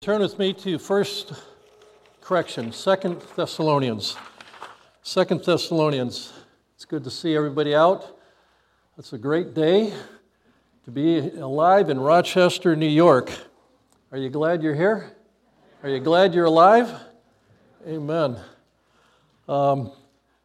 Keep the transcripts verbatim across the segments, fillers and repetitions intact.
Turn with me to first, correction, Second Thessalonians. Second Thessalonians. It's good to see everybody out. It's a great day to be alive in Rochester, New York. Are you glad you're here? Are you glad you're alive? Amen. Um,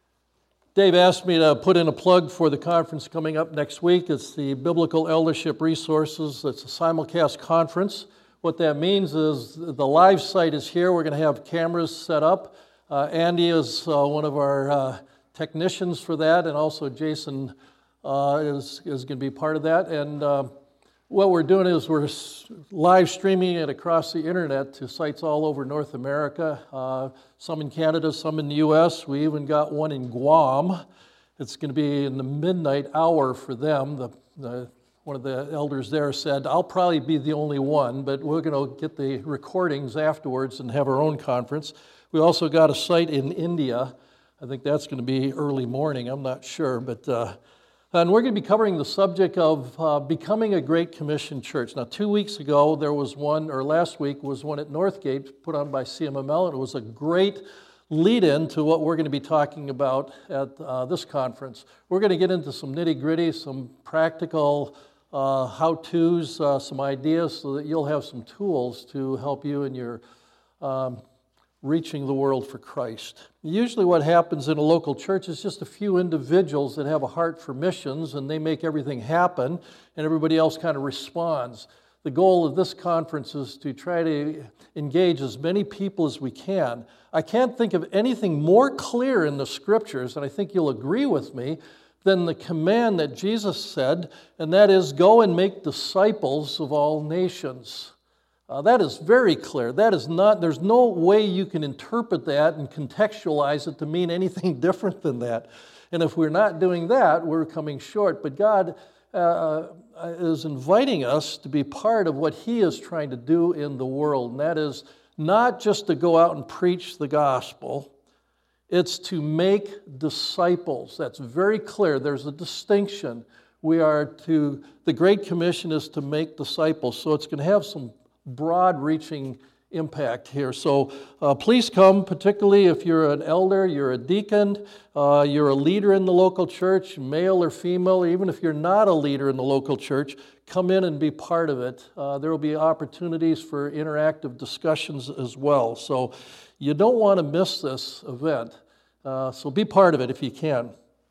Dave asked me to put in a plug for the conference coming up next week. It's the Biblical Eldership Resources. It's a simulcast conference. What that means is the live site is here. We're going to have cameras set up. Uh, Andy is uh, one of our uh, technicians for that, and also Jason uh, is, is going to be part of that. And uh, what we're doing is we're live streaming it across the internet to sites all over North America, uh, some in Canada, some in the U S. We even got one in Guam. It's going to be in the midnight hour for them. The, the One of the elders there said, I'll probably be the only one, but we're going to get the recordings afterwards and have our own conference. We also got a site in India. I think that's going to be early morning. I'm not sure. But uh, and we're going to be covering the subject of uh, becoming a Great Commission church. Now, two weeks ago, there was one, or last week was one at Northgate put on by C M M L, and it was a great lead-in to what we're going to be talking about at uh, this conference. We're going to get into some nitty-gritty, some practical Uh, how-tos, uh, some ideas so that you'll have some tools to help you in your um, reaching the world for Christ. Usually what happens in a local church is just a few individuals that have a heart for missions and they make everything happen and everybody else kind of responds. The goal of this conference is to try to engage as many people as we can. I can't think of anything more clear in the scriptures, and I think you'll agree with me, than the command that Jesus said, and that is, go and make disciples of all nations. Uh, that is very clear. That is not, there's no way you can interpret that and contextualize it to mean anything different than that. And if we're not doing that, we're coming short. But God uh, is inviting us to be part of what He is trying to do in the world, and that is not just to go out and preach the gospel. It's to make disciples. That's very clear. There's a distinction. We are to, the Great Commission is to make disciples. So it's going to have some broad-reaching impact here. So uh, please come, particularly if you're an elder, you're a deacon, uh, you're a leader in the local church, male or female, or even if you're not a leader in the local church, come in and be part of it. Uh, there will be opportunities for interactive discussions as well. So you don't want to miss this event, uh, so be part of it if you can.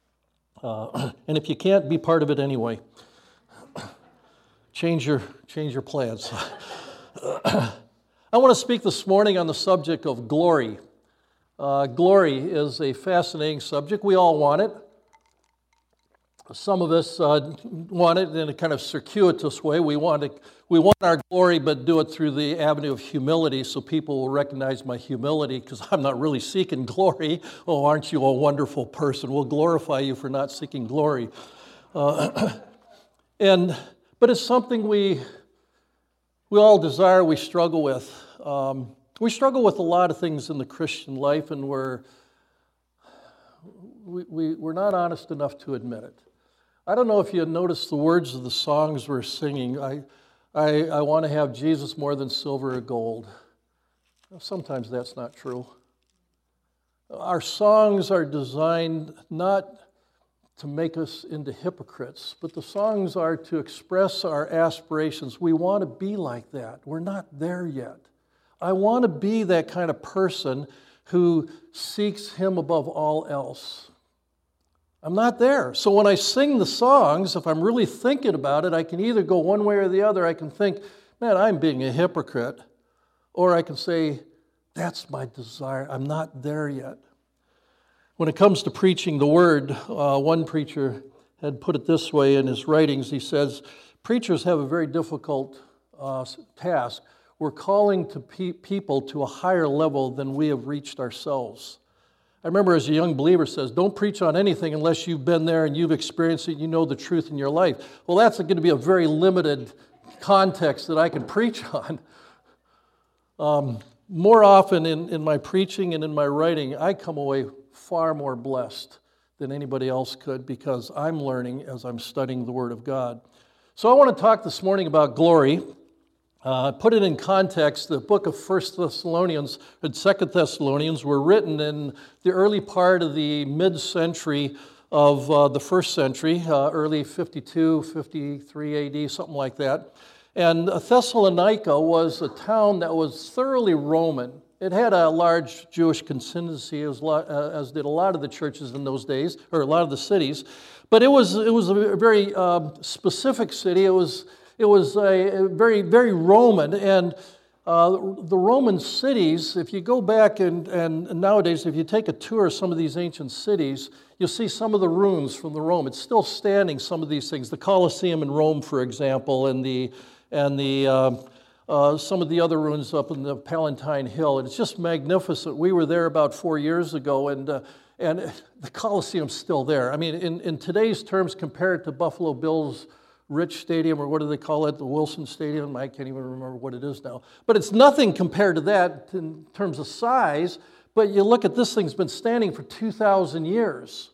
Uh, and if you can't, be part of it anyway. Change your, change your plans. I want to speak this morning on the subject of glory. Uh, glory is a fascinating subject. We all want it. Some of us uh, want it in a kind of circuitous way. We want to, we want our glory, but do it through the avenue of humility so people will recognize my humility because I'm not really seeking glory. Oh, aren't you a wonderful person? We'll glorify you for not seeking glory. Uh, and but it's something we we all desire, we struggle with. Um, we struggle with a lot of things in the Christian life, and we're we, we, we're not honest enough to admit it. I don't know if you noticed the words of the songs we're singing. I, I, I want to have Jesus more than silver or gold. Sometimes that's not true. Our songs are designed not to make us into hypocrites, but the songs are to express our aspirations. We want to be like that. We're not there yet. I want to be that kind of person who seeks Him above all else. I'm not there. So when I sing the songs, if I'm really thinking about it, I can either go one way or the other. I can think, man, I'm being a hypocrite. Or I can say, that's my desire. I'm not there yet. When it comes to preaching the word, uh, one preacher had put it this way in his writings. He says, preachers have a very difficult uh, task. We're calling to pe- people to a higher level than we have reached ourselves. I remember as a young believer says, don't preach on anything unless you've been there and you've experienced it, and you know the truth in your life. Well, that's going to be a very limited context that I can preach on. Um, more often in, in my preaching and in my writing, I come away far more blessed than anybody else could because I'm learning as I'm studying the Word of God. So I want to talk this morning about glory. Uh, put it in context, the book of First Thessalonians and Second Thessalonians were written in the early part of the mid-century of uh, the first century, uh, early fifty-two, fifty-three A D, something like that. And Thessalonica was a town that was thoroughly Roman. It had a large Jewish contingency, as, as did a lot of the churches in those days, or a lot of the cities. But it was it was a very uh, specific city. It was it was a very very Roman, and uh, the Roman cities. If you go back and and nowadays, if you take a tour of some of these ancient cities, you'll see some of the ruins from the Rome. It's still standing. Some of these things, the Colosseum in Rome, for example, and the and the uh, uh, some of the other ruins up in the Palatine Hill. And it's just magnificent. We were there about four years ago, and. Uh, And the Coliseum's still there. I mean, in, in today's terms, compared to Buffalo Bills' Rich Stadium, or what do they call it, the Wilson Stadium? I can't even remember what it is now. But it's nothing compared to that in terms of size. But you look at this thing's been standing for two thousand years.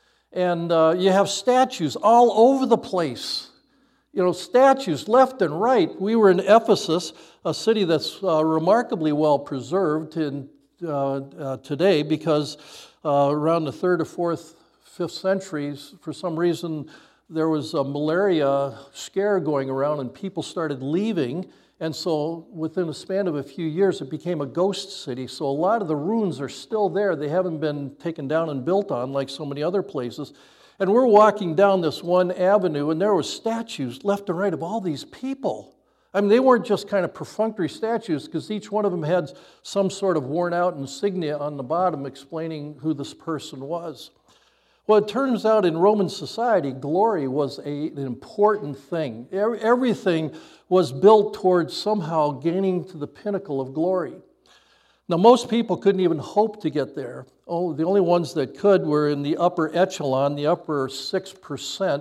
And uh, you have statues all over the place. You know, statues left and right. We were in Ephesus, a city that's uh, remarkably well preserved in, uh, uh, today because Uh, around the third or fourth, fifth centuries, for some reason, there was a malaria scare going around and people started leaving. And so within a span of a few years, it became a ghost city. So a lot of the ruins are still there. They haven't been taken down and built on like so many other places. And we're walking down this one avenue, and there were statues left and right of all these people. I mean, they weren't just kind of perfunctory statues, because each one of them had some sort of worn out insignia on the bottom explaining who this person was. Well, it turns out in Roman society, glory was a, an important thing. Everything was built towards somehow gaining to the pinnacle of glory. Now, most people couldn't even hope to get there. Oh, the only ones that could were in the upper echelon, the upper six percent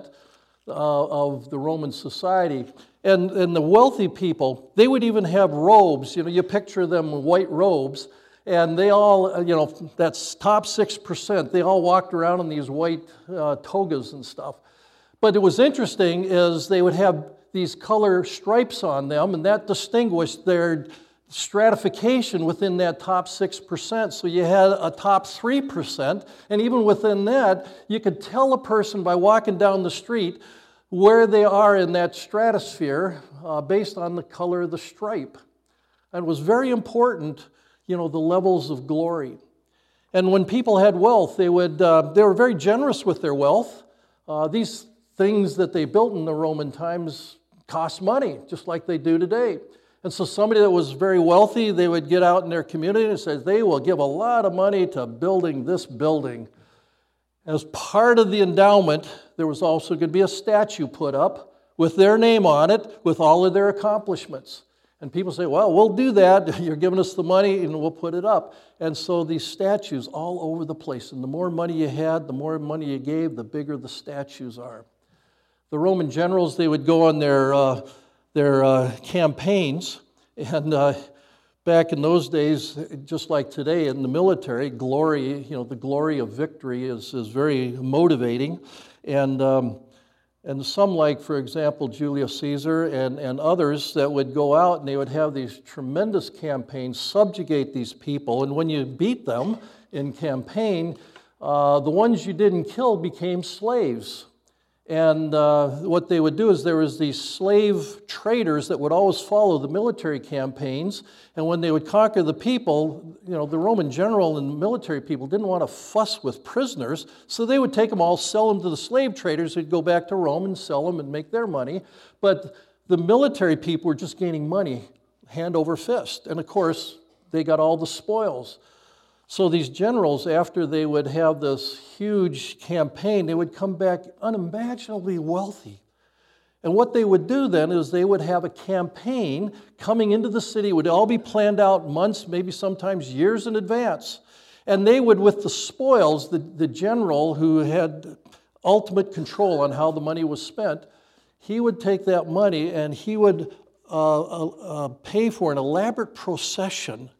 uh, of the Roman society. And, and the wealthy people, they would even have robes. You know, you picture them with white robes, and they all, you know, that's top six percent. They all walked around in these white uh, togas and stuff. But it was interesting is they would have these color stripes on them, and that distinguished their stratification within that top six percent. So you had a top three percent, and even within that, you could tell a person by walking down the street where they are in that stratosphere uh, based on the color of the stripe. And it was very important, you know, the levels of glory. And when people had wealth, they would uh, they were very generous with their wealth. Uh, these things that they built in the Roman times cost money, just like they do today. And so somebody that was very wealthy, they would get out in their community and say they will give a lot of money to building this building. As part of the endowment, there was also going to be a statue put up with their name on it, with all of their accomplishments. And people say, well, we'll do that. You're giving us the money, and we'll put it up. And so these statues all over the place. And the more money you had, the more money you gave, the bigger the statues are. The Roman generals, they would go on their, uh, their uh, campaigns, and uh, back in those days, just like today in the military, glory, you know, the glory of victory is, is very motivating. And, um, and some, like, for example, Julius Caesar and, and others that would go out and they would have these tremendous campaigns, subjugate these people. And when you beat them in campaign, uh, the ones you didn't kill became slaves. And uh, what they would do is there was these slave traders that would always follow the military campaigns. And when they would conquer the people, you know, the Roman general and the military people didn't want to fuss with prisoners, so they would take them all, sell them to the slave traders who'd go back to Rome and sell them and make their money. But the military people were just gaining money hand over fist. And of course, they got all the spoils. So these generals, after they would have this huge campaign, they would come back unimaginably wealthy. And what they would do then is they would have a campaign coming into the city. It would all be planned out months, maybe sometimes years in advance. And they would, with the spoils, the, the general who had ultimate control on how the money was spent, he would take that money and he would uh, uh, uh, pay for an elaborate procession.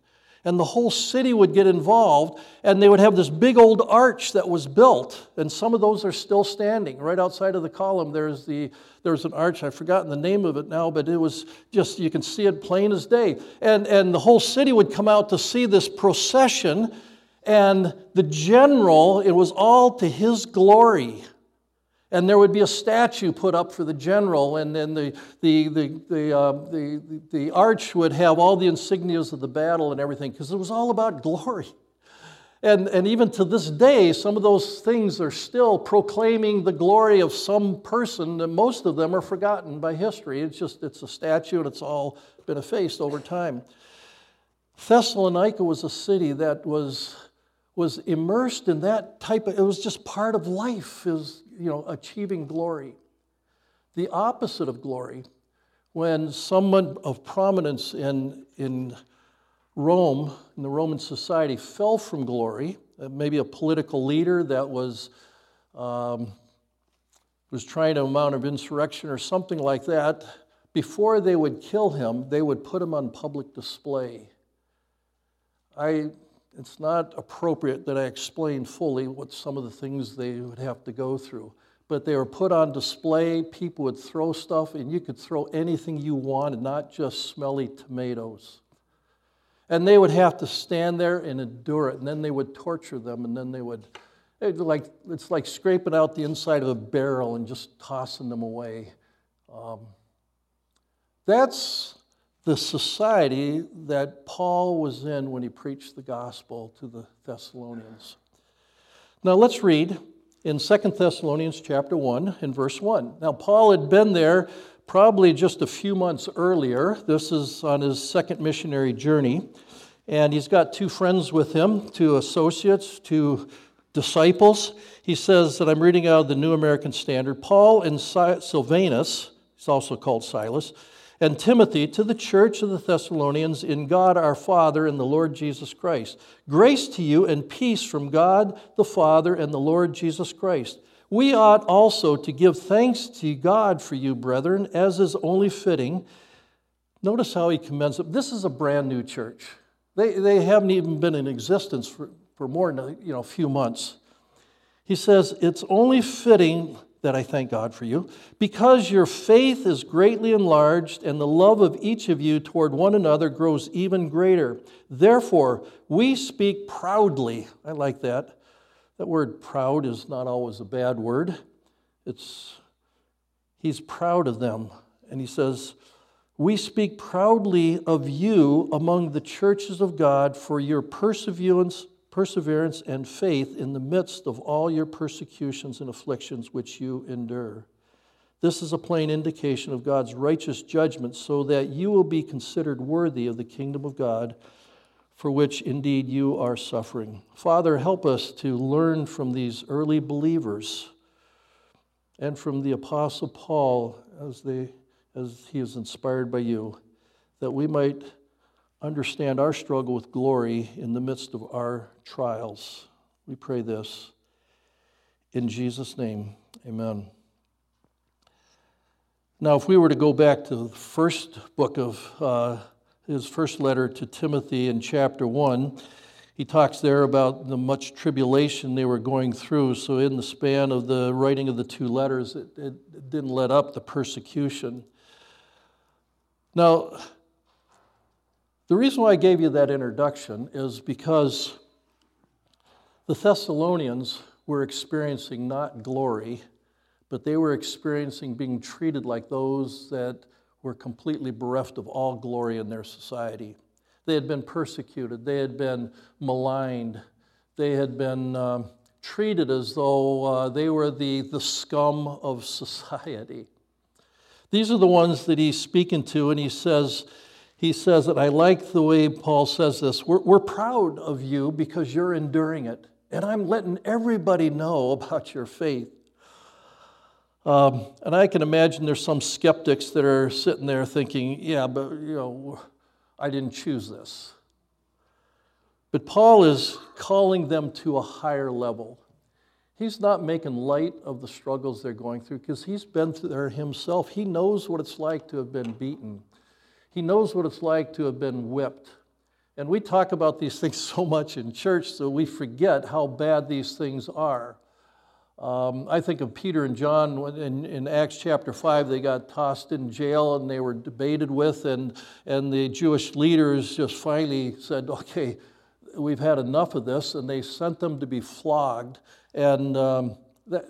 And the whole city would get involved, and they would have this big old arch that was built, and some of those are still standing. Right outside of the column, there's the there's an arch. I've forgotten the name of it now, but it was just, you can see it plain as day. And, and the whole city would come out to see this procession, and the general, it was all to his glory. And there would be a statue put up for the general, and then the the the the, uh, the the arch would have all the insignias of the battle and everything, because it was all about glory. And and even to this day, some of those things are still proclaiming the glory of some person, and most of them are forgotten by history. It's just it's a statue, and it's all been effaced over time. Thessalonica was a city that was was immersed in that type of, it was just part of life, is, you know, achieving glory. The opposite of glory, when someone of prominence in, in Rome, in the Roman society, fell from glory, maybe a political leader that was, um, was trying to mount an insurrection or something like that, before they would kill him, they would put him on public display. I... It's not appropriate that I explain fully what some of the things they would have to go through. But they were put on display, people would throw stuff, and you could throw anything you wanted, not just smelly tomatoes. And they would have to stand there and endure it, and then they would torture them, and then they would, it like, it's like scraping out the inside of a barrel and just tossing them away. Um, that's the society that Paul was in when he preached the gospel to the Thessalonians. Now let's read in Second Thessalonians chapter one and verse one. Now Paul had been there probably just a few months earlier. This is on his second missionary journey. And he's got two friends with him, two associates, two disciples. He says that I'm reading out of the New American Standard. Paul and Silvanus, he's also called Silas, and Timothy, to the church of the Thessalonians in God our Father and the Lord Jesus Christ. Grace to you and peace from God the Father and the Lord Jesus Christ. We ought also to give thanks to God for you, brethren, as is only fitting. Notice how he commends it. This is a brand new church. They, they haven't even been in existence for, for more than a, you know, a few months. He says, it's only fitting that I thank God for you, because your faith is greatly enlarged and the love of each of you toward one another grows even greater. Therefore, we speak proudly. I like that. That word proud is not always a bad word. It's, he's proud of them. And he says, we speak proudly of you among the churches of God for your perseverance perseverance and faith in the midst of all your persecutions and afflictions which you endure. This is a plain indication of God's righteous judgment, so that you will be considered worthy of the kingdom of God, for which indeed you are suffering. Father, help us to learn from these early believers and from the Apostle Paul as they, as he is inspired by you, that we might understand our struggle with glory in the midst of our trials. We pray this in Jesus' name. Amen. Now, if we were to go back to the first book of uh, his first letter to Timothy in chapter one, he talks there about the much tribulation they were going through. So in the span of the writing of the two letters, it, it didn't let up the persecution. Now, the reason why I gave you that introduction is because the Thessalonians were experiencing not glory, but they were experiencing being treated like those that were completely bereft of all glory in their society. They had been persecuted. They had been maligned. They had been um, treated as though uh, they were the, the scum of society. These are the ones that he's speaking to, and he says, he says that I like the way Paul says this. We're, we're proud of you because you're enduring it, and I'm letting everybody know about your faith. Um, and I can imagine there's some skeptics that are sitting there thinking, yeah, but you know, I didn't choose this. But Paul is calling them to a higher level. He's not making light of the struggles they're going through because he's been through there himself. He knows what it's like to have been beaten. He knows what it's like to have been whipped. And we talk about these things so much in church, so we forget how bad these things are. Um, I think of Peter and John when in, in Acts chapter five. They got tossed in jail and they were debated with, and, and the Jewish leaders just finally said, okay, we've had enough of this, and they sent them to be flogged. And um, that,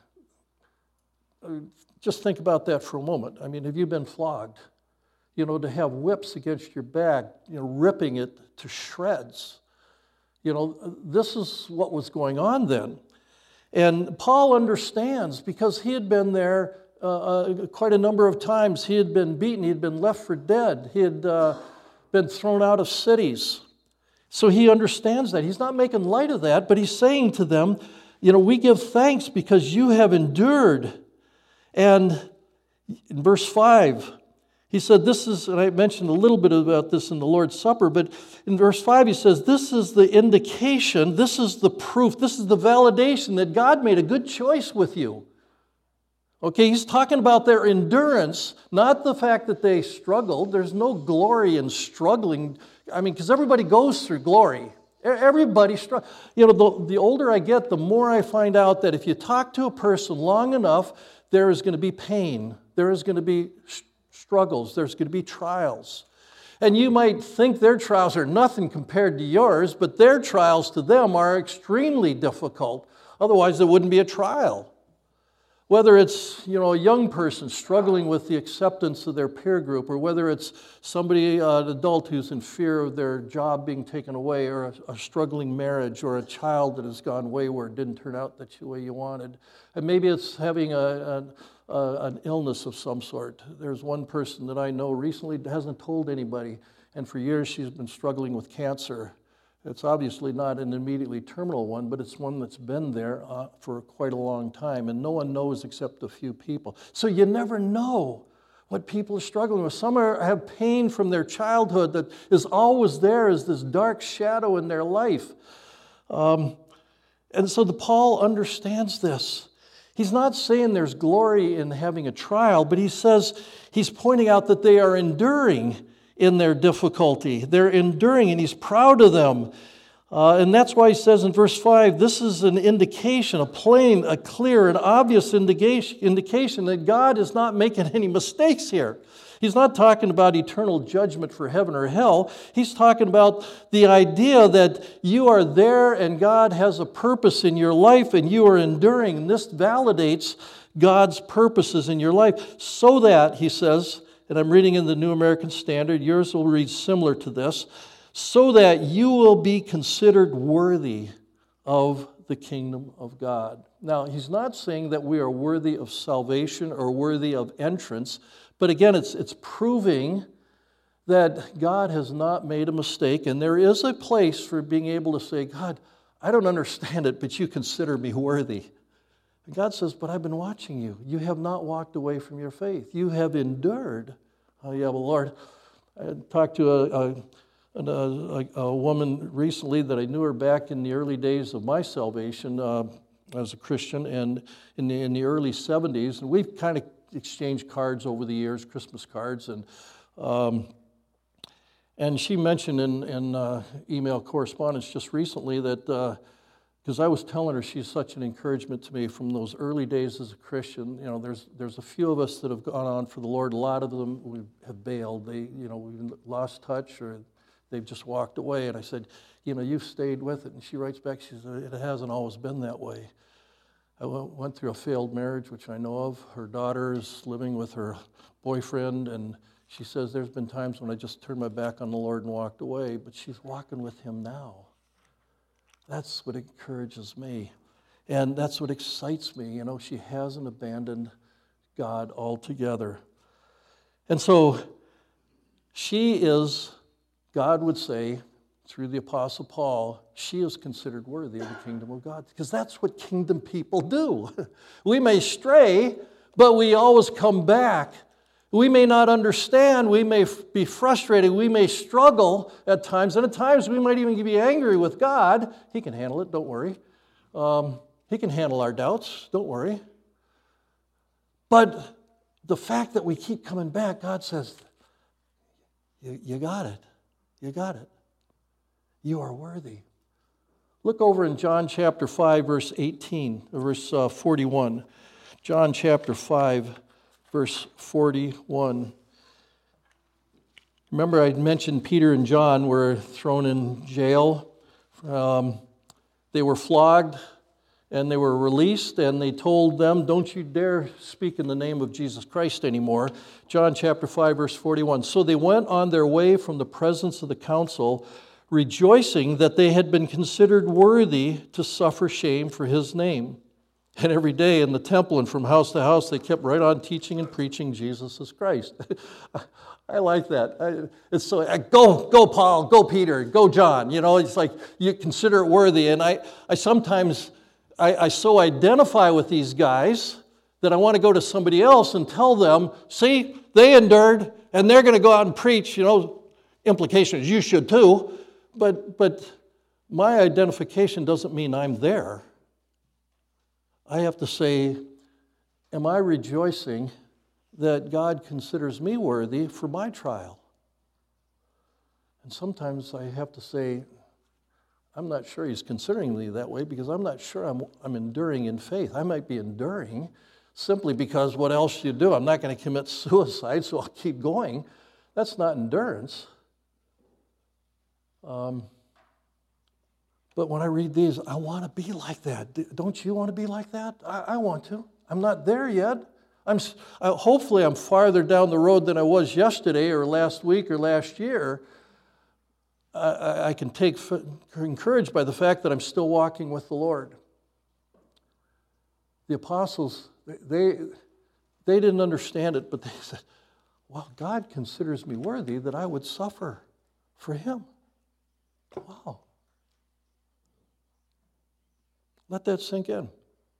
just think about that for a moment. I mean, have you been flogged? You know, to have whips against your back, you know, ripping it to shreds. You know, this is what was going on then. And Paul understands, because he had been there uh, uh, quite a number of times. He had been beaten. He had been left for dead. He had uh, been thrown out of cities. So he understands that. He's not making light of that, but he's saying to them, you know, we give thanks because you have endured. And in verse five, he said, this is, and I mentioned a little bit about this in the Lord's Supper, but in verse five he says, this is the indication, this is the proof, this is the validation that God made a good choice with you. Okay, he's talking about their endurance, not the fact that they struggled. There's no glory in struggling. I mean, because everybody goes through glory. Everybody struggles. You know, the, the older I get, the more I find out that if you talk to a person long enough, there is going to be pain. There is going to be struggles. There's going to be trials. And you might think their trials are nothing compared to yours, but their trials to them are extremely difficult. Otherwise, there wouldn't be a trial. Whether it's, you know, a young person struggling with the acceptance of their peer group, or whether it's somebody, uh, an adult who's in fear of their job being taken away, or a, a struggling marriage, or a child that has gone wayward, didn't turn out the way you wanted. And maybe it's having a, a Uh, an illness of some sort. There's one person that I know recently hasn't told anybody, and for years she's been struggling with cancer. It's obviously not an immediately terminal one, but it's one that's been there uh, for quite a long time, and no one knows except a few people. So you never know what people are struggling with. Some are, have pain from their childhood that is always there as this dark shadow in their life. Um, and so the Paul understands this. He's not saying there's glory in having a trial, but he says, he's pointing out that they are enduring in their difficulty. They're enduring, and he's proud of them. Uh, and that's why he says in verse five, this is an indication, a plain, a clear, an obvious indication, indication that God is not making any mistakes here. He's not talking about eternal judgment for heaven or hell. He's talking about the idea that you are there and God has a purpose in your life and you are enduring. And this validates God's purposes in your life so that, he says, and I'm reading in the New American Standard, yours will read similar to this, so that you will be considered worthy of the kingdom of God. Now, he's not saying that we are worthy of salvation or worthy of entrance, but again, it's, it's proving that God has not made a mistake, and there is a place for being able to say, God, I don't understand it, but you consider me worthy. And God says, but I've been watching you. You have not walked away from your faith. You have endured. Oh, yeah, well, Lord, I talked to a, a, a, a woman recently that I knew her back in the early days of my salvation uh, as a Christian, and in the, in the early seventies, and we've kind of exchanged cards over the years, Christmas cards, and um, and she mentioned in, in uh, email correspondence just recently that, because uh, I was telling her she's such an encouragement to me from those early days as a Christian. You know, there's there's a few of us that have gone on for the Lord. A lot of them we have bailed. They, you know, we've lost touch or they've just walked away. And I said, you know, you've stayed with it. And she writes back, she says, it hasn't always been that way. I went through a failed marriage, which I know of. Her daughter is living with her boyfriend, and she says there's been times when I just turned my back on the Lord and walked away, but she's walking with him now. That's what encourages me, and that's what excites me. You know, she hasn't abandoned God altogether. And so she is, God would say, through the Apostle Paul, she is considered worthy of the kingdom of God. Because that's what kingdom people do. We may stray, but we always come back. We may not understand. We may be frustrated. We may struggle at times. And at times we might even be angry with God. He can handle it, don't worry. Um, he can handle our doubts, don't worry. But the fact that we keep coming back, God says, you, you got it. You got it. You are worthy. Look over in John chapter five, verse eighteen, verse uh, forty-one. John chapter five, verse forty-one. Remember I mentioned Peter and John were thrown in jail. Um, they were flogged and they were released, and they told them, don't you dare speak in the name of Jesus Christ anymore. John chapter five, verse forty-one. So they went on their way from the presence of the council, rejoicing that they had been considered worthy to suffer shame for his name. And every day in the temple and from house to house, they kept right on teaching and preaching Jesus as Christ. I like that. I, it's so, I, go, go Paul, go Peter, go John. You know, it's like you consider it worthy. And I, I sometimes, I, I so identify with these guys that I want to go to somebody else and tell them, see, they endured and they're going to go out and preach, you know, implications, you should too. But, but my identification doesn't mean I'm there. I have to say, am I rejoicing that God considers me worthy for my trial? And sometimes I have to say, I'm not sure he's considering me that way because I'm not sure I'm, I'm enduring in faith. I might be enduring simply because what else do you do? I'm not going to commit suicide, so I'll keep going. That's not endurance. Um, but when I read these, I want to be like that. Don't you want to be like that? I, I want to. I'm not there yet. I'm I, hopefully I'm farther down the road than I was yesterday or last week or last year. I, I can take encouraged by the fact that I'm still walking with the Lord. The apostles, they they didn't understand it, but they said, "Well, God considers me worthy that I would suffer for Him." Wow. Let that sink in.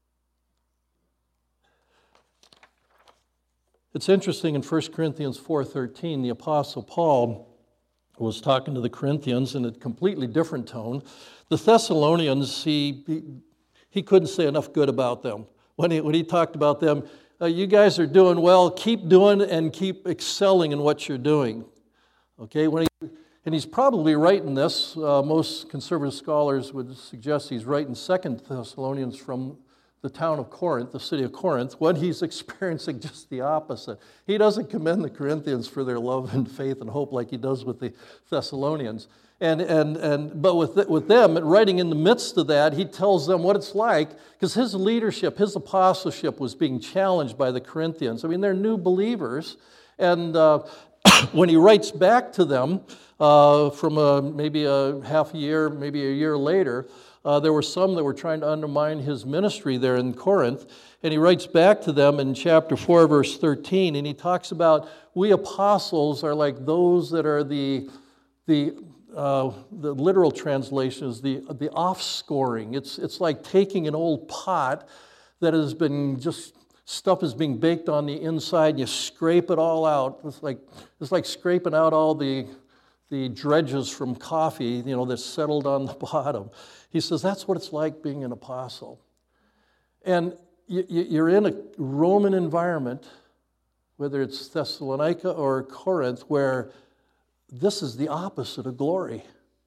It's interesting in First Corinthians four thirteen, the Apostle Paul was talking to the Corinthians in a completely different tone. The Thessalonians, he, he, he couldn't say enough good about them. When he, when he talked about them, uh, you guys are doing well, keep doing and keep excelling in what you're doing. Okay, when he And he's probably writing this. Uh, most conservative scholars would suggest he's writing Second Thessalonians from the town of Corinth, the city of Corinth, when he's experiencing just the opposite. He doesn't commend the Corinthians for their love and faith and hope like he does with the Thessalonians. And and and but with with them, writing in the midst of that, he tells them what it's like, because his leadership, his apostleship was being challenged by the Corinthians. I mean, they're new believers, and uh, when he writes back to them, Uh, from a, maybe a half a year, maybe a year later, uh, there were some that were trying to undermine his ministry there in Corinth. And he writes back to them in chapter four, verse thirteen, and he talks about, we apostles are like those that are the, the, uh, the literal translation is the, the offscoring. It's, it's like taking an old pot that has been just, stuff is being baked on the inside, and you scrape it all out. It's like, it's like scraping out all the the dredges from coffee, you know, that's settled on the bottom. He says that's what it's like being an apostle. And you're in a Roman environment, whether it's Thessalonica or Corinth, where this is the opposite of glory.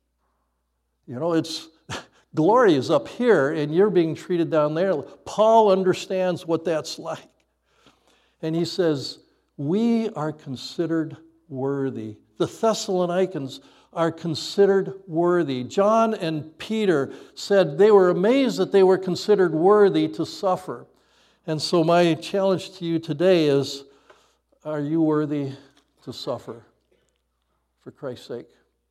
You know, it's glory is up here, and you're being treated down there. Paul understands what that's like. And he says, we are considered worthy. The Thessalonians are considered worthy. John and Peter said they were amazed that they were considered worthy to suffer. And so my challenge to you today is, are you worthy to suffer for Christ's sake?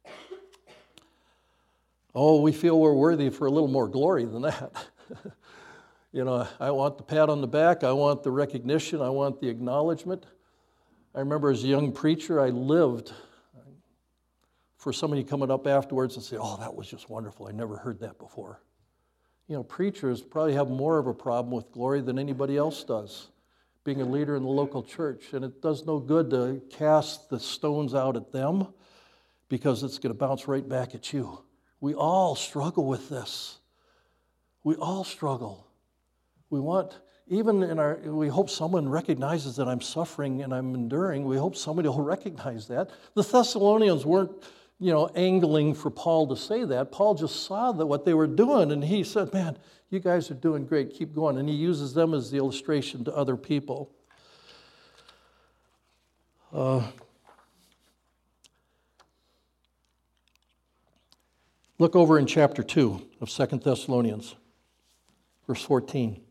Oh, we feel we're worthy for a little more glory than that. You know, I want the pat on the back. I want the recognition. I want the acknowledgement. I remember as a young preacher, I lived for somebody coming up afterwards and say, oh, that was just wonderful. I never heard that before. You know, preachers probably have more of a problem with glory than anybody else does, being a leader in the local church. And it does no good to cast the stones out at them because it's going to bounce right back at you. We all struggle with this. We all struggle. We want, even in our, we hope someone recognizes that I'm suffering and I'm enduring. We hope somebody will recognize that. The Thessalonians weren't you know, angling for Paul to say that. Paul just saw that what they were doing, and he said, man, you guys are doing great, keep going. And he uses them as the illustration to other people. Uh, look over in chapter two of Second Thessalonians, verse fourteen.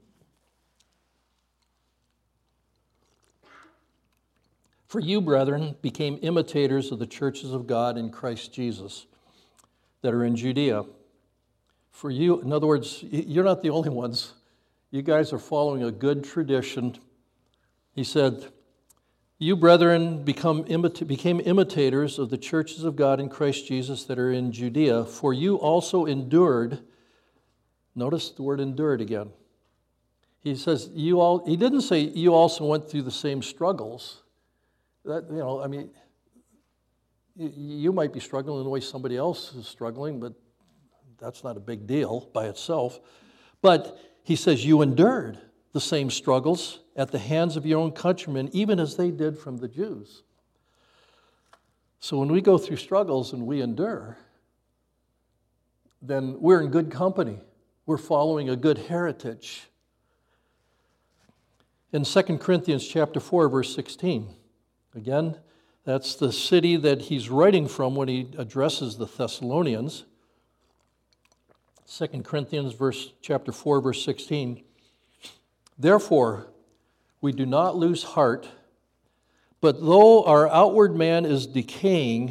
For you, brethren, became imitators of the churches of God in Christ Jesus that are in Judea. For you, in other words, you're not the only ones. You guys are following a good tradition. He said, you, brethren, become imita- became imitators of the churches of God in Christ Jesus that are in Judea. For you also endured. Notice the word endured again. He says, you all, he didn't say you also went through the same struggles. That, you know, I mean, you might be struggling in the way somebody else is struggling, but that's not a big deal by itself. But he says you endured the same struggles at the hands of your own countrymen, even as they did from the Jews. So when we go through struggles and we endure, then we're in good company. We're following a good heritage. In Second Corinthians chapter four, verse sixteen, again, that's the city that he's writing from when he addresses the Thessalonians. Second Corinthians verse, chapter four, verse sixteen. Therefore, we do not lose heart, but though our outward man is decaying,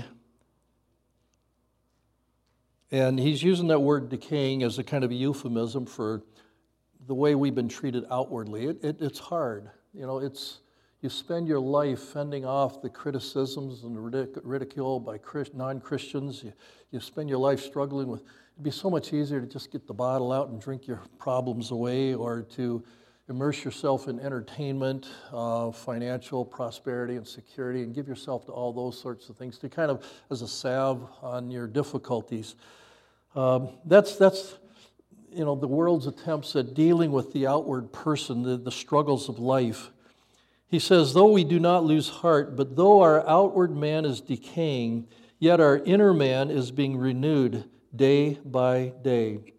and he's using that word decaying as a kind of a euphemism for the way we've been treated outwardly. It, it, it's hard. You know, it's you spend your life fending off the criticisms and the ridic- ridicule by Christ, non-Christians. You, you spend your life struggling with, it'd be so much easier to just get the bottle out and drink your problems away, or to immerse yourself in entertainment, uh, financial prosperity and security, and give yourself to all those sorts of things, to kind of as a salve on your difficulties. Um, that's, that's, you know, the world's attempts at dealing with the outward person, the, the struggles of life. He says, though we do not lose heart, but though our outward man is decaying, yet our inner man is being renewed day by day.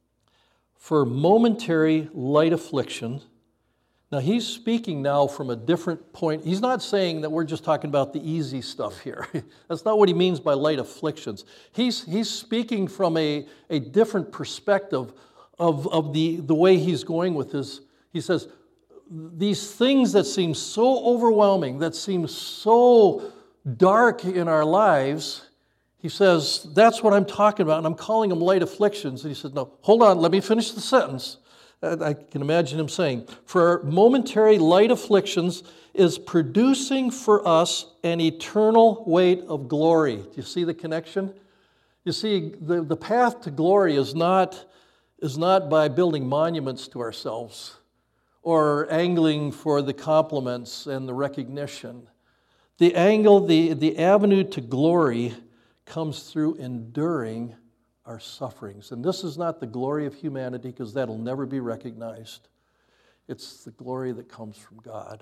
For momentary light affliction. Now he's speaking now from a different point. He's not saying that we're just talking about the easy stuff here. That's not what he means by light afflictions. He's, he's speaking from a, a different perspective of, of the, the way he's going with his. He says, these things that seem so overwhelming, that seem so dark in our lives, he says, that's what I'm talking about, and I'm calling them light afflictions. And he said, no, hold on, let me finish the sentence. I can imagine him saying, for momentary light afflictions is producing for us an eternal weight of glory. Do you see the connection? You see, the, the path to glory is not, is not by building monuments to ourselves or angling for the compliments and the recognition. The angle, the, the avenue to glory comes through enduring our sufferings. And this is not the glory of humanity, because that'll never be recognized. It's the glory that comes from God.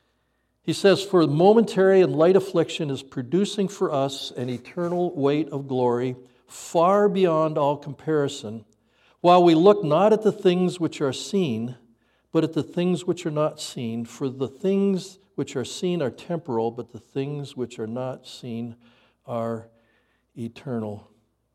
He says, for momentary and light affliction is producing for us an eternal weight of glory far beyond all comparison, while we look not at the things which are seen, but at the things which are not seen. For the things which are seen are temporal, but the things which are not seen are eternal.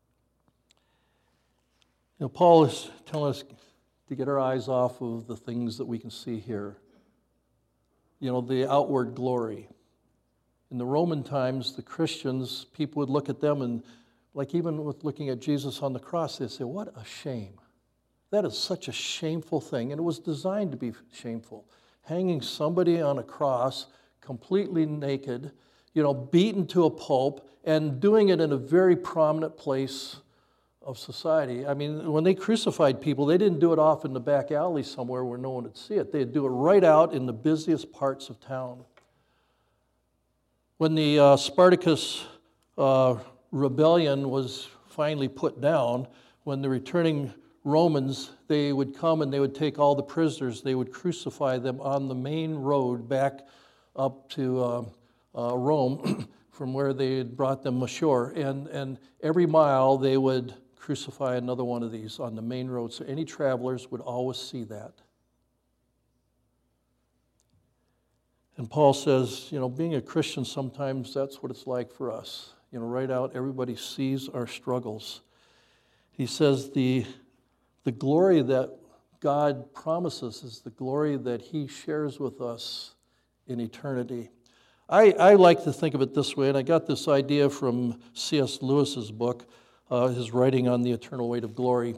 You know, Paul is telling us to get our eyes off of the things that we can see here. You know, the outward glory. In the Roman times, the Christians, people would look at them and, like even with looking at Jesus on the cross, they'd say, what a shame. That is such a shameful thing, and it was designed to be shameful. Hanging somebody on a cross, completely naked, you know, beaten to a pulp, and doing it in a very prominent place of society. I mean, when they crucified people, they didn't do it off in the back alley somewhere where no one would see it. They'd do it right out in the busiest parts of town. When the uh, Spartacus uh, rebellion was finally put down, when the returning Romans, they would come and they would take all the prisoners, they would crucify them on the main road back up to uh, uh, Rome from where they had brought them ashore. And, and every mile they would crucify another one of these on the main road. So any travelers would always see that. And Paul says, you know, being a Christian, sometimes that's what it's like for us. You know, right out, everybody sees our struggles. He says the, the glory that God promises is the glory that he shares with us in eternity. I, I like to think of it this way, and I got this idea from C S Lewis's book, uh, his writing on the eternal weight of glory.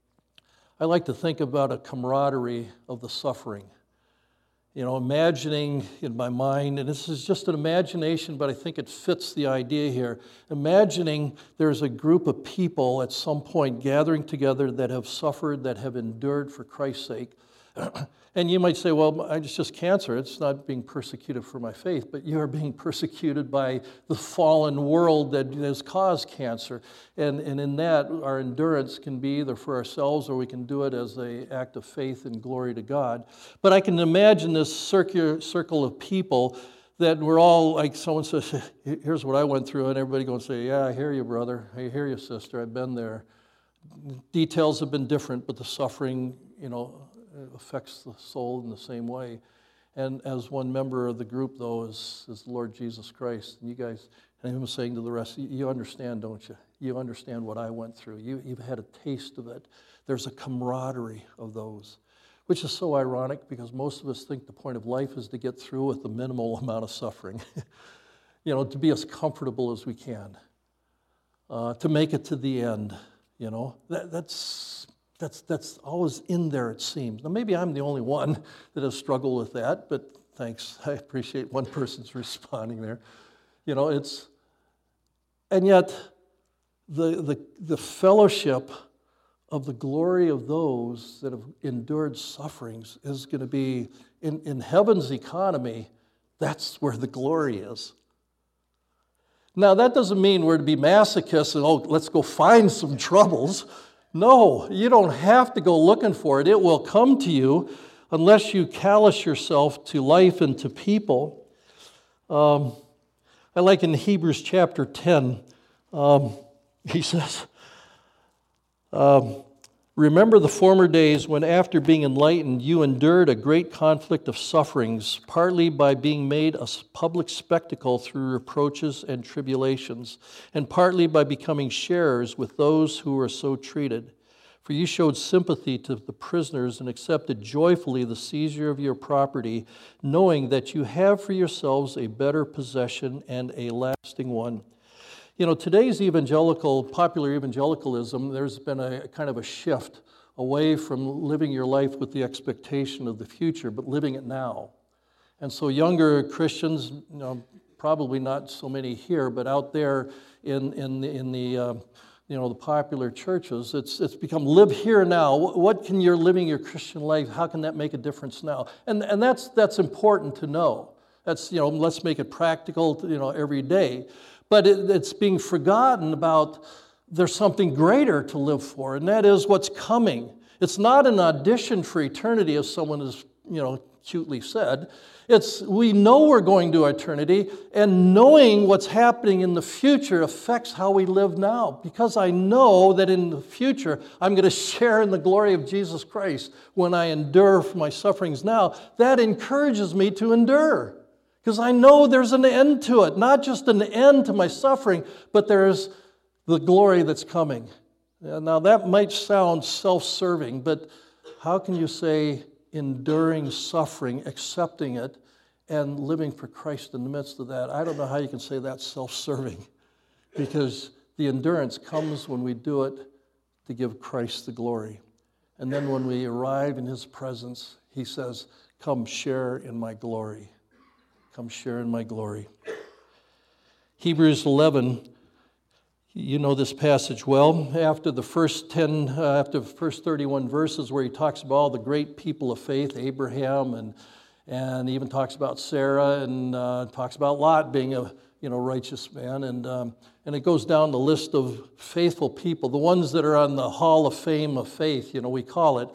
I like to think about a camaraderie of the suffering. You know, imagining in my mind, and this is just an imagination, but I think it fits the idea here. Imagining there's a group of people at some point gathering together that have suffered, that have endured for Christ's sake. And you might say, well, it's just cancer. It's not being persecuted for my faith, but you are being persecuted by the fallen world that has caused cancer. And, and in that, our endurance can be either for ourselves or we can do it as an act of faith and glory to God. But I can imagine this circular circle of people that we're all, like someone says, here's what I went through, and everybody going to say, yeah, I hear you, brother. I hear you, sister. I've been there. Details have been different, but the suffering, you know, affects the soul in the same way. And as one member of the group, though, is, is the Lord Jesus Christ. And you guys, and him saying to the rest, you understand, don't you? You understand what I went through. You, you've had a taste of it. There's a camaraderie of those, which is so ironic because most of us think the point of life is to get through with the minimal amount of suffering. You know, to be as comfortable as we can, uh, to make it to the end. You know, that, that's that's that's always in there, it seems. Now, maybe I'm the only one that has struggled with that, but thanks. I appreciate one person's responding there. You know, it's, and yet the the the fellowship of the glory of those that have endured sufferings is going to be in, in heaven's economy. That's where the glory is. Now, that doesn't mean we're to be masochists and, oh, let's go find some troubles. No, you don't have to go looking for it. It will come to you unless you callous yourself to life and to people. Um, I like in Hebrews chapter ten, um, he says, um, remember the former days when after being enlightened you endured a great conflict of sufferings, partly by being made a public spectacle through reproaches and tribulations, and partly by becoming sharers with those who were so treated. For you showed sympathy to the prisoners and accepted joyfully the seizure of your property, knowing that you have for yourselves a better possession and a lasting one. You know, today's evangelical, popular evangelicalism, there's been a kind of a shift away from living your life with the expectation of the future, but living it now. And so younger Christians, you know, probably not so many here, but out there in in the, in the uh, you know the popular churches, it's it's become live here now. What can you're living your Christian life? How can that make a difference now? And and that's that's important to know. That's, you know, let's make it practical, you know, every day. But it, it's being forgotten about there's something greater to live for, and that is what's coming. It's not an audition for eternity, as someone has, you know, cutely said. It's we know we're going to eternity, and knowing what's happening in the future affects how we live now. Because I know that in the future I'm going to share in the glory of Jesus Christ when I endure for my sufferings now. That encourages me to endure. Because I know there's an end to it, not just an end to my suffering, but there's the glory that's coming. Now that might sound self-serving, but how can you say enduring suffering, accepting it, and living for Christ in the midst of that? I don't know how you can say that's self-serving, because the endurance comes when we do it to give Christ the glory. And then when we arrive in His presence, He says, come share in my glory. Come share in my glory. Hebrews eleven, you know this passage well. After the first ten, uh, after the first thirty-one verses where he talks about all the great people of faith, Abraham, and and even talks about Sarah, and uh, talks about Lot being a you know righteous man, and um, and it goes down the list of faithful people, the ones that are on the Hall of Fame of faith, you know we call it.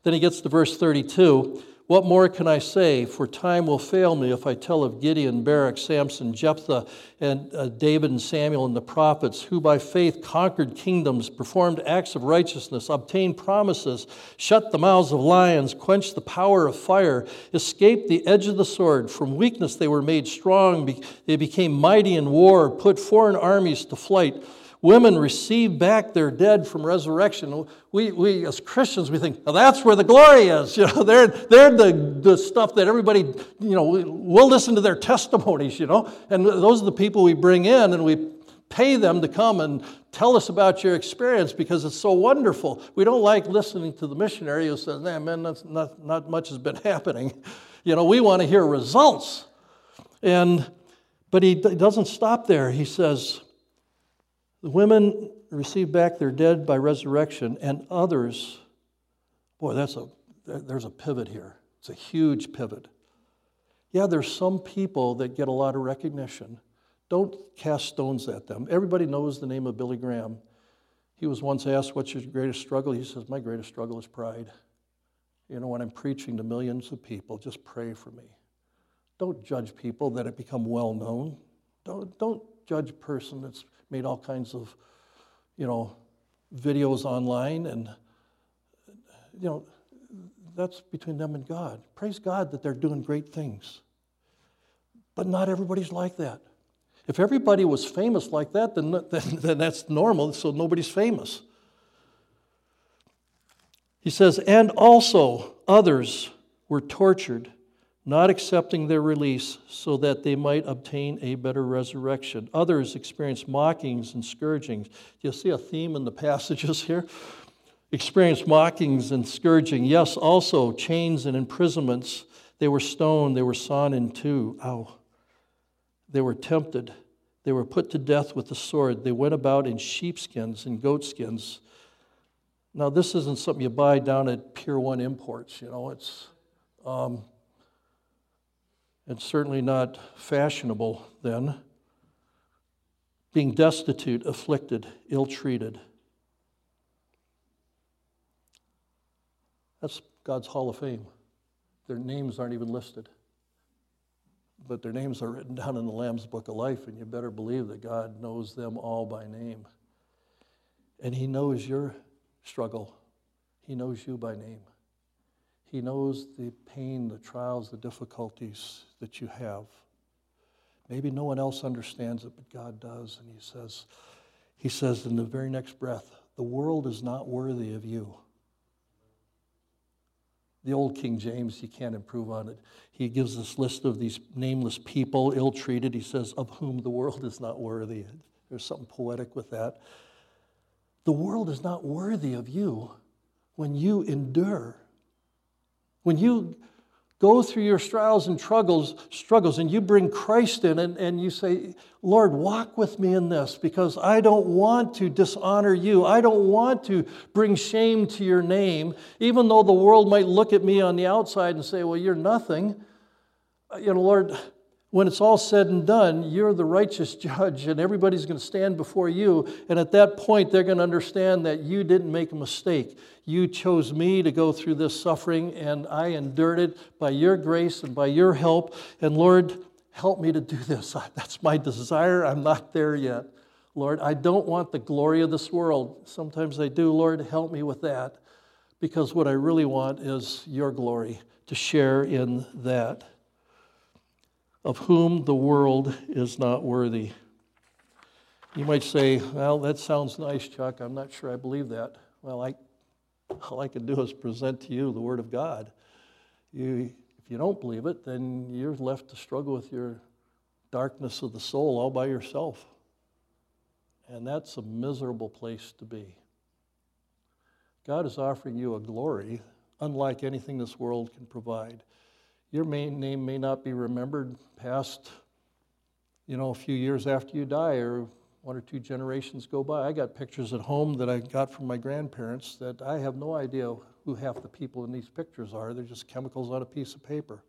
Then he gets to verse thirty-two. What more can I say? For time will fail me if I tell of Gideon, Barak, Samson, Jephthah, and uh, David and Samuel and the prophets, who by faith conquered kingdoms, performed acts of righteousness, obtained promises, shut the mouths of lions, quenched the power of fire, escaped the edge of the sword. From weakness they were made strong. They became mighty in war, put foreign armies to flight. Women received back their dead from resurrection. We, we as Christians, we think, well, that's where the glory is. You know, they're, they're the, the stuff that everybody, you know, we'll listen to their testimonies, you know. And those are the people we bring in, and we pay them to come and tell us about your experience because it's so wonderful. We don't like listening to the missionary who says, nah, man, that's not, not much has been happening. You know, we want to hear results. And but he doesn't stop there. He says, the women received back their dead by resurrection, and others, boy, that's a there's a pivot here. It's a huge pivot. Yeah, there's some people that get a lot of recognition. Don't cast stones at them. Everybody knows the name of Billy Graham. He was once asked, what's your greatest struggle? He says, my greatest struggle is pride. You know, when I'm preaching to millions of people, just pray for me. Don't judge people that have become well known. Don't, don't judge a person that's made all kinds of, you know, videos online, and, you know, that's between them and God. Praise God that they're doing great things. But not everybody's like that. If everybody was famous like that, then, then, then that's normal, so nobody's famous. He says, and also others were tortured, not accepting their release so that they might obtain a better resurrection. Others experienced mockings and scourgings. Do you see a theme in the passages here? Experienced mockings and scourging. Yes, also chains and imprisonments. They were stoned. They were sawn in two. Ow. They were tempted. They were put to death with the sword. They went about in sheepskins and goatskins. Now, this isn't something you buy down at Pier one Imports. You know, it's... Um, It's certainly not fashionable then. Being destitute, afflicted, ill-treated. That's God's Hall of Fame. Their names aren't even listed. But their names are written down in the Lamb's Book of Life, and you better believe that God knows them all by name. And He knows your struggle. He knows you by name. He knows the pain, the trials, the difficulties that you have. Maybe no one else understands it, but God does. And he says, he says in the very next breath, the world is not worthy of you. The old King James, you can't improve on it. He gives this list of these nameless people, ill-treated. He says, of whom the world is not worthy. There's something poetic with that. The world is not worthy of you when you endure. When you go through your trials and struggles, struggles and you bring Christ in and, and you say, Lord, walk with me in this because I don't want to dishonor you. I don't want to bring shame to your name, even though the world might look at me on the outside and say, well, you're nothing. You know, Lord, when it's all said and done, you're the righteous judge and everybody's going to stand before you. And at that point, they're going to understand that you didn't make a mistake. You chose me to go through this suffering, and I endured it by your grace and by your help. And Lord, help me to do this. That's my desire. I'm not there yet. Lord, I don't want the glory of this world. Sometimes I do. Lord, help me with that. Because what I really want is your glory, to share in that. Of whom the world is not worthy. You might say, well, that sounds nice, Chuck. I'm not sure I believe that. Well, I, all I can do is present to you the Word of God. You, if you don't believe it, then you're left to struggle with your darkness of the soul all by yourself. And that's a miserable place to be. God is offering you a glory unlike anything this world can provide. Your main name may not be remembered past, you know, a few years after you die or one or two generations go by. I got pictures at home that I got from my grandparents that I have no idea who half the people in these pictures are. They're just chemicals on a piece of paper.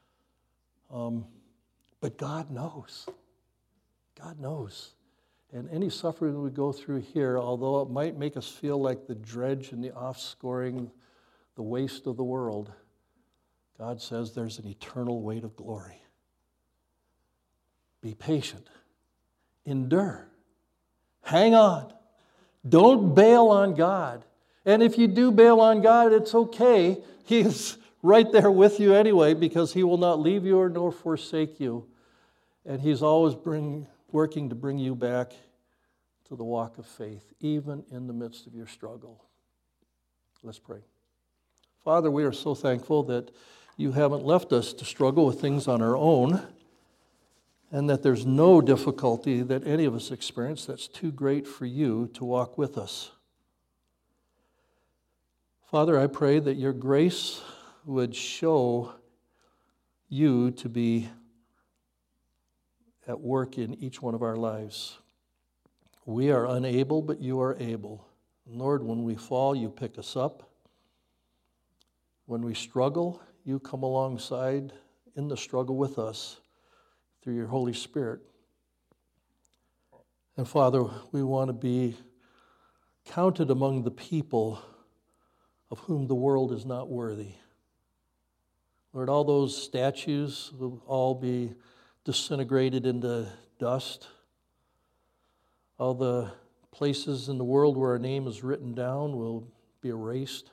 Um, but God knows. God knows. And any suffering we go through here, although it might make us feel like the dredge and the offscoring, the waste of the world, God says there's an eternal weight of glory. Be patient. Endure. Hang on. Don't bail on God. And if you do bail on God, it's okay. He's right there with you anyway, because He will not leave you or nor forsake you. And He's always bring, working to bring you back to the walk of faith, even in the midst of your struggle. Let's pray. Father, we are so thankful that You haven't left us to struggle with things on our own, and that there's no difficulty that any of us experience that's too great for You to walk with us. Father, I pray that Your grace would show You to be at work in each one of our lives. We are unable, but You are able. Lord, when we fall, You pick us up. When we struggle, You come alongside in the struggle with us through Your Holy Spirit. And Father, we want to be counted among the people of whom the world is not worthy. Lord, all those statues will all be disintegrated into dust. All the places in the world where our name is written down will be erased.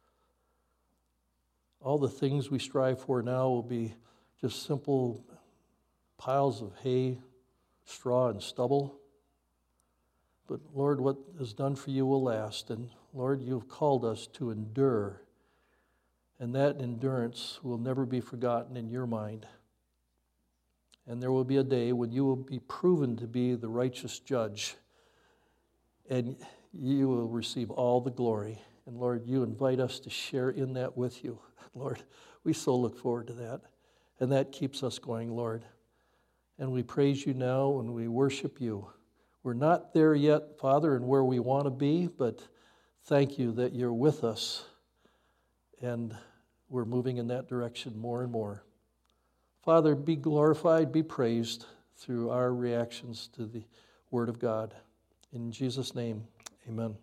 All the things we strive for now will be just simple piles of hay, straw, and stubble. But Lord, what is done for You will last. And Lord, You've called us to endure. And that endurance will never be forgotten in Your mind. And there will be a day when You will be proven to be the righteous judge. And You will receive all the glory. And Lord, You invite us to share in that with You. Lord, we so look forward to that. And that keeps us going, Lord. And we praise You now and we worship You. We're not there yet, Father, and where we want to be, but thank You that You're with us. And we're moving in that direction more and more. Father, be glorified, be praised through our reactions to the Word of God. In Jesus' name, amen.